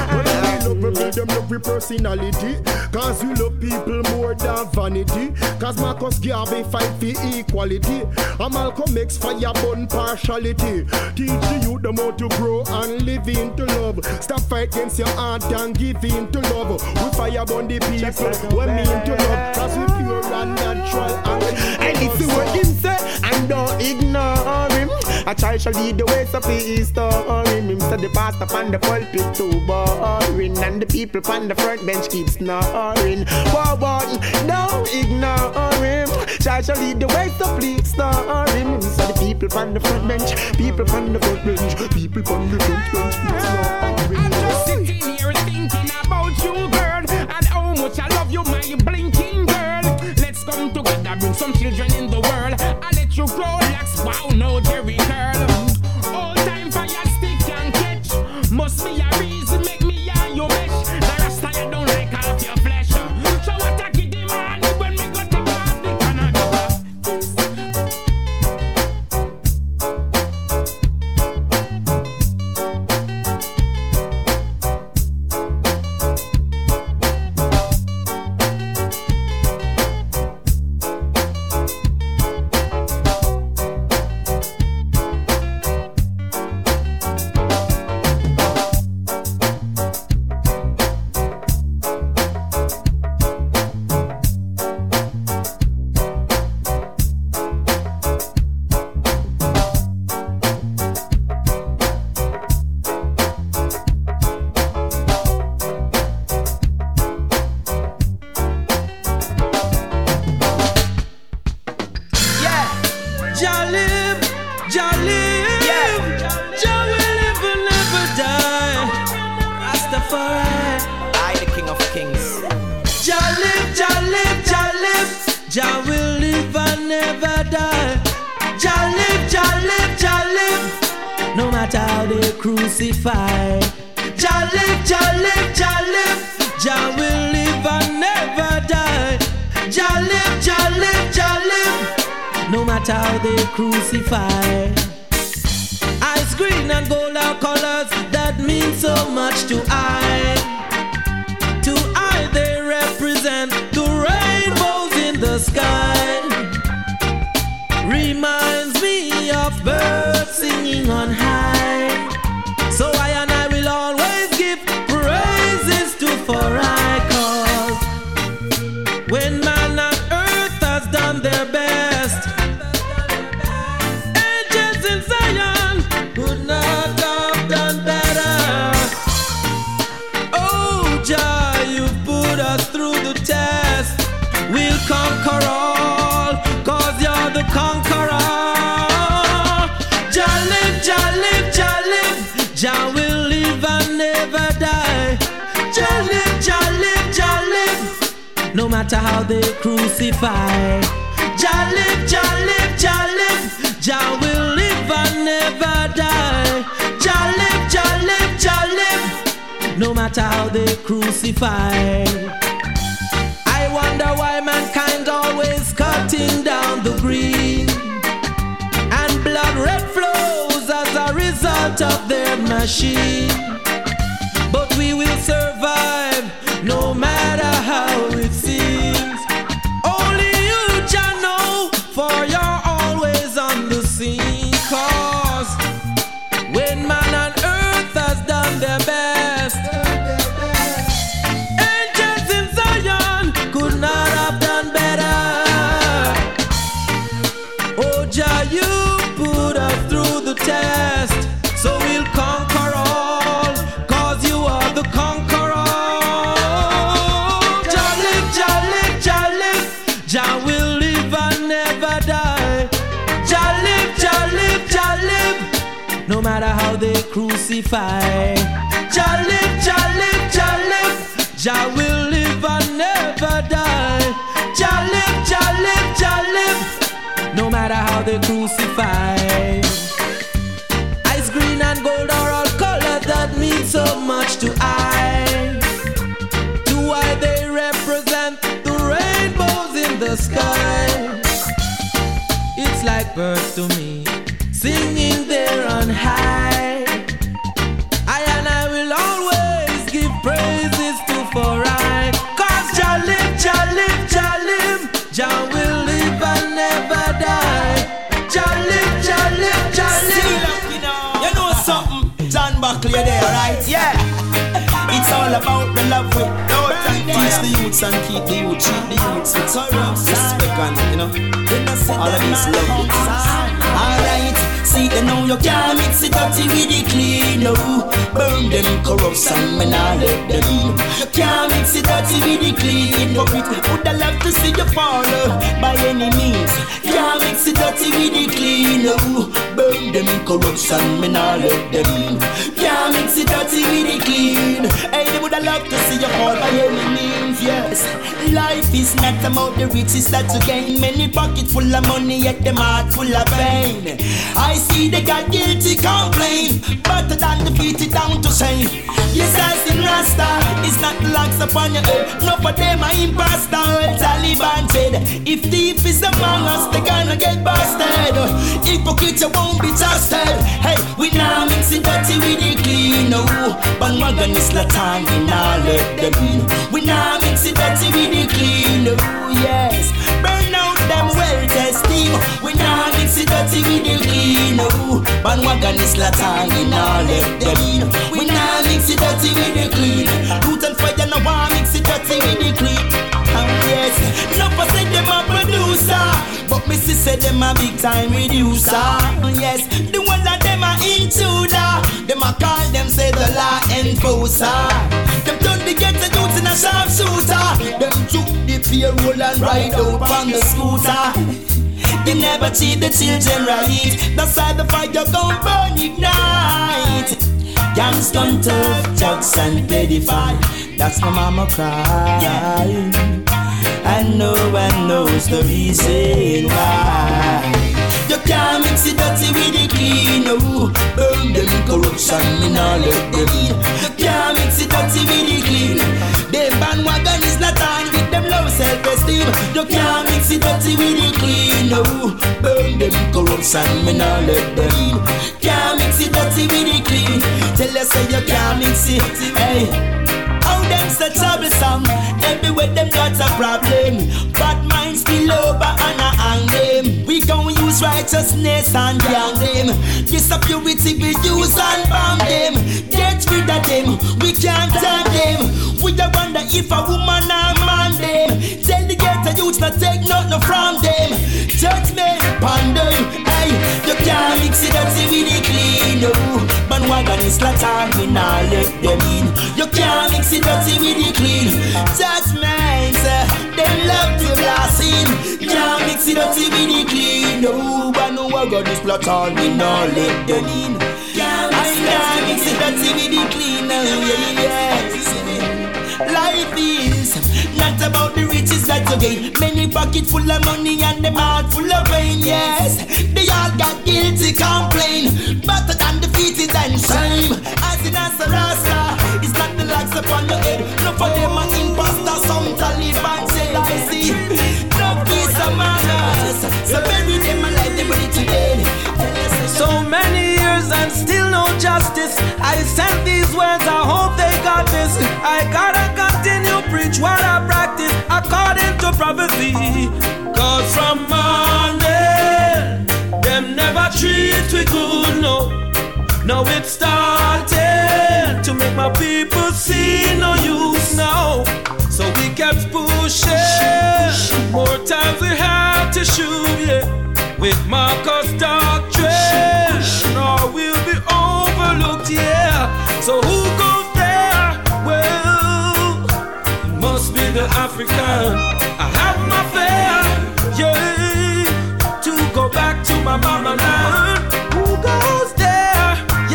Them love with personality, cause you love people more than vanity. Cause Marcus Garvey fight for equality, and Malcolm X fire burn partiality. Teach the youth them how to grow and live into love. Stop fight against your heart and give in to love. We fire burn the people, we mean to love. Cause we pure and natural and listen what him say and don't ignore him. A child shall lead the way, so please store him. Him said the pastor on the pulpit too boring, and the people on the front bench keep snoring. But don't ignore him. Child shall lead the way, so please store him. So the people on the front bench, people on the front bench, people on the front bench keep snoring. I'm just sitting here thinking about you, girl, and how much I love you, my blinking girl. Let's come together, bring some children in the world. I let you grow, relax, wow, no Jerry curl. All time fire stick and catch. Must be a reason, make me and you mesh. The rest of you don't like half your flesh. So what I get him on when we go take off the Canada. Jah will live and never die. Jah live, Jah live, Jah live. No matter how they crucify. Jah live, Jah live, Jah live. Jah will live and never die. Jah live, Jah live, Jah live. No matter how they crucify. Ice green and gold are colors that mean so much to I. To I they represent the rainbows in the sky. Reminds me of birds singing on high. So I and I will always give praises to for I, cause when man on earth has done their best, angels in Zion could not have done better. Oh Jah, you've put us through the test. We'll conquer all, cause you're the conqueror. Jah live, Jah live, Jah live. Jah will live and never die. Jah live, Jah live, Jah live. No matter how they crucify. Jah live, Jah live, Jah live. Jah will live and never die. Jah live, Jah live, Jah live. No matter how they crucify. I wonder why mankind always cutting down the green, and blood red flows as a result of their machine. But we will survive no matter how they crucify. Jah live, Jah live, Jah live. Jah will live and never die. Jah live, Jah live, Jah live. No matter how they crucify. Ice green and gold are all colors that mean so much to I. To why they represent the rainbows in the sky. It's like birds to me, singing there on high. I will always give praises to for I. Cause Jah live, Jah live, Jah live. Jah will live and never die. Jah live, Jah live, Jah live. You know something, John Buckley there, right? Yeah. It's all about the love we don't teach the youths and keep the youth, treat the youths with respect and, you know, all of these love things. Alright, see you know you can't mix it dirty with the clean, no. Burn them corruption, man, I let them in. You can't mix it dirty with the clean, no. Would I love to see you fall by any means. Can't mix it dirty with the clean, no. Burn them corruption, man, I let them in. Can't mix it dirty with the clean. Hey, they would I love to see you fall by any means, yes. Life is not about the riches that you gain. Many pockets full of money, yet them heart full of pain. I see they got guilty complain, better than defeated down to shame. Yes, I see Rasta, it's not the locks upon your head. No for them are imposter, well Taliban said. If thief is among us, they gonna get busted. Hypocrite, you won't be trusted. Hey, we now mix it dirty with the clean, no. Bandwagon is Latan, we now let them in. We now mix it dirty with the clean, no, yes. Burn out them well-test team. We now mix it dirty with the clean, no. Bandwagon is Latan, we now let them in. We now mix it dirty with the clean. Root and fire, no one mix it dirty with the clean. Yes, no for say them a producer, but me say them a big time reducer. Yes, the one that them a intruder, them a call them say the law enforcer. Them turn the ghetto youth in a sharpshooter. Them took the payroll and ride out on the scooter. They never treat the children right. That's why the fire gon' burn ignite. Gangs gon' turf, drugs and pedify. That's my mama cry, yeah. And no one knows the reason why. You can't mix it dirty with the clean, no. Burn them corruption, me nah let them in. You can't mix it dirty with the clean. Them bandwagon is not on with them low self-esteem. You can't mix it dirty with the clean, no. Burn them corruption, me nah let them in. Can't mix it dirty with the clean. Tell us say you can't mix it, hey. How them so troublesome? Everywhere them got a problem. Bad minds spill over and I hang them. We gon' use righteousness and gang them. This a purity we use and bomb them. Get rid of them, we can't turn them. We a wonder if a woman or man them. Tell the ghetto youths not take nothing from them. Judgment upon them, hey. You can't mix it dirty with it clean, no. Bandwagon is Latan, we nah let them in. You can't mix it dirty with it clean. Judgment, them love to blast in. Can't mix it dirty with it clean, no. Bandwagon is Latan, we nah let them in. I can't mix it dirty with it clean, no. Yes. Life is not about the riches that you gain. Many pocket full of money and them heart full of pain. Yes, they all got guilty complain. Better than defeated and shame. As in as a rasta, it's not the locks upon your head. No for them an imposter. Some Taliban said I see. No peace of manners. So bury them alive, they bring it to dead. So many years and still no justice. I sent these words, I hope they got this. I gotta continue preach what I practice according to prophecy. Cause from morning, them never treat we good, no. Now it started to make my people see no use now. So we kept pushing, more times we had to shoot, yeah. With Marcus doctrine, or we'll be overlooked, yeah. So who goes there? Well, it must be the African. I have my fare, yeah, to go back to my mama land. Who goes there?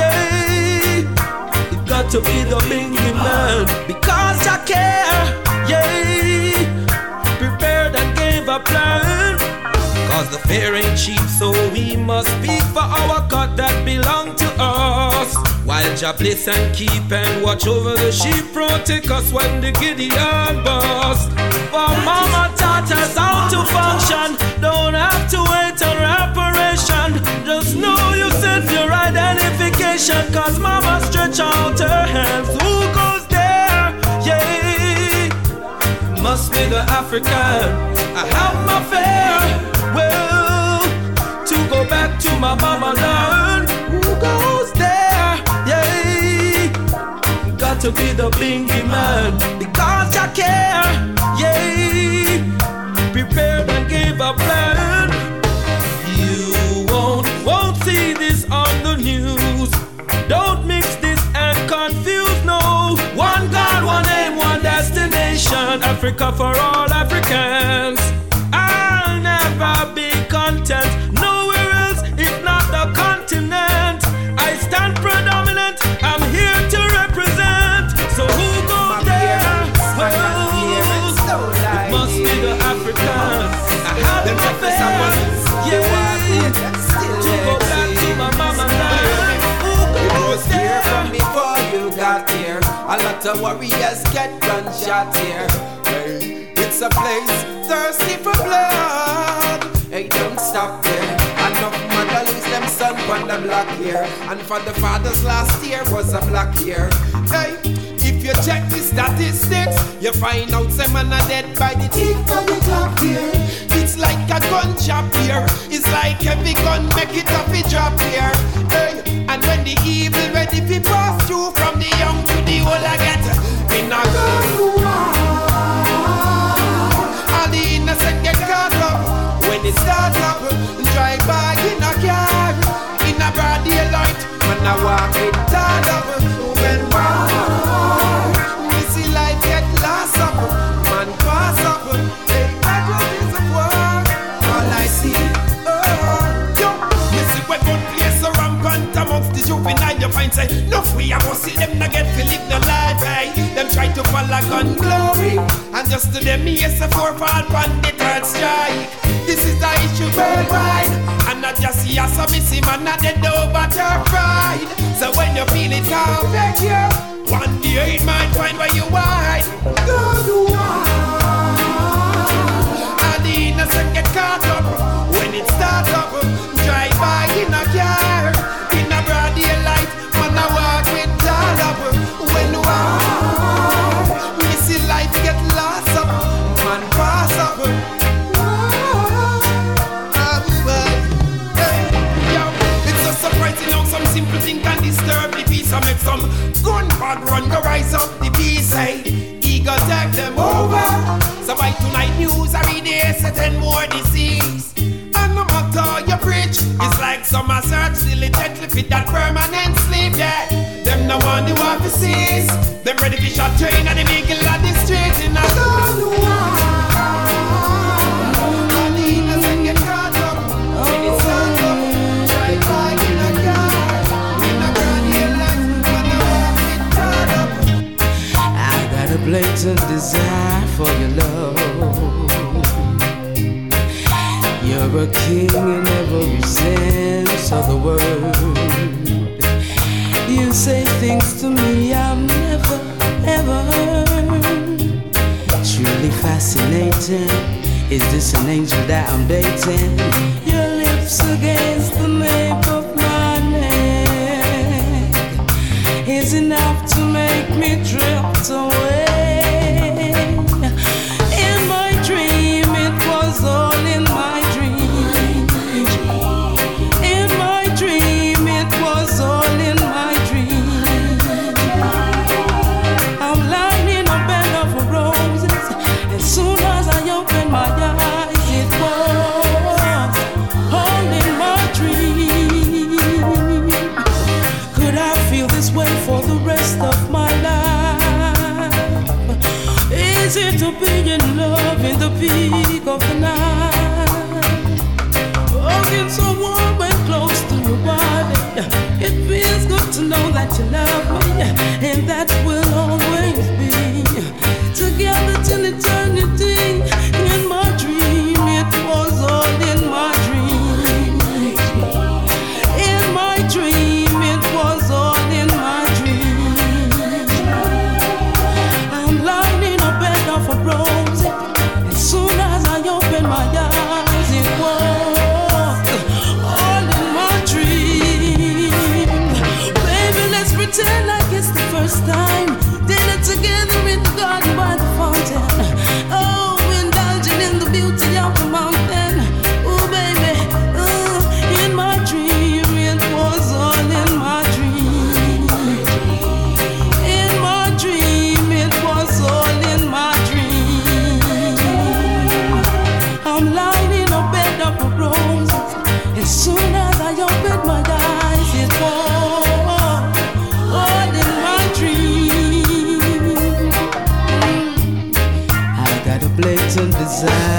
to be the bingy man. Because I care, yeah. Prepared and gave a plan. Cause the fear ain't cheap, so we must speak for our God that belong to us. While Jah bless and keep and watch over the sheep, protect us when the Gideon bust. For mama taught us how to function, don't have to wait on reparation. Just know you set your identification, cause mama stretch out her hands. Who goes there? Yeah, must be the African. I have my fare, well, to go back to my mama land. Who goes there? Yeah, got to be the bingy man. Because I care, yeah. Prepared and gave a plan. You won't see this on the news. Don't mix this and confuse, no. One God, one aim, one destination. Africa for all Africans. I'll never be content nowhere else if not the continent. I stand predominant, I'm here to represent. So who goes there? Well, it must be the Africans. I have the affairs, yeah, to go back to my mama land. Who goes there? From before you got here, a lot of warriors get gunshot here. Hey, it's a place thirsty for blood. Hey, don't stop there. Enough mother lose them son on the block here. And for the fathers last year was a black year. Hey, if you check the statistics, you find out some man are dead by the tick of the clock here. It's like a gun shop here. It's like every gun make it off a drop here. Hey, and when the evil ready to pass through from the young to the old, I get in a gun war. All the innocent get caught up. When it starts up, drive by in a car, in a broad daylight, when I walk it tied up. When war, we see life get lost up, man pass up. Hey, that is a war. All I see, yo, you see when one place a rampant amongst the juvenile, you find say, no free, I must see them not get to live the life, hey. Them try to follow gun glory, and just to them, yes, a four-fall on the third strike. This is the issue worldwide, and not just see us a missing man, not dead over your pride. So when you feel it come back here, one day it might find where you hide. Good one, and the innocent get caught up when it starts up. Drive by in a car, in a broad daylight, man I walk with all up. When war, missing life get lost up, man pass up. Some simple thing can disturb the peace. I make some gun bad run go rise up the peace. Hey, ego take them over. So by tonight news every day say 10 more disease. And no matter you preach, it's like some search diligently fit that permanent sleep. Yeah, them no one the offices. Them ready for shot train and the vehicle at the street in a gun war. All the innocent get caught up when it's all up. Drive by in a car. A blatant desire for your love. You're a king in every sense of the word. You say things to me I've never ever heard. Truly fascinating. Is this an angel that I'm dating? Your lips against the nape of my neck is enough to make me drift away. In my dream, it was all in my dream. In my dream, it was all in my dream. I'm lying in a bed of roses. As soon as I open my eyes, it was all in my dream. Could I feel this way for the rest of my life? Is it to be in love in the peak of the night? Hugging so warm and close to your body. It feels good to know that you love me, and that will always be together till eternity. In my dream, it was all in my dream. In my dream, it was all in my dream. I'm lying in a bed of a rose. As soon as I open my eyes, it was all in my dream. Baby, let's pretend like it's the first time. Dinner together in the garden by the fountain. Oh, indulging in the beauty of the mountain. Oh, baby, in my dream, it was all in my dream. In my dream, it was all in my dream. I'm lying in a bed of roses. As soon as I opened my eyes, it was all in my dream. I got a blatant desire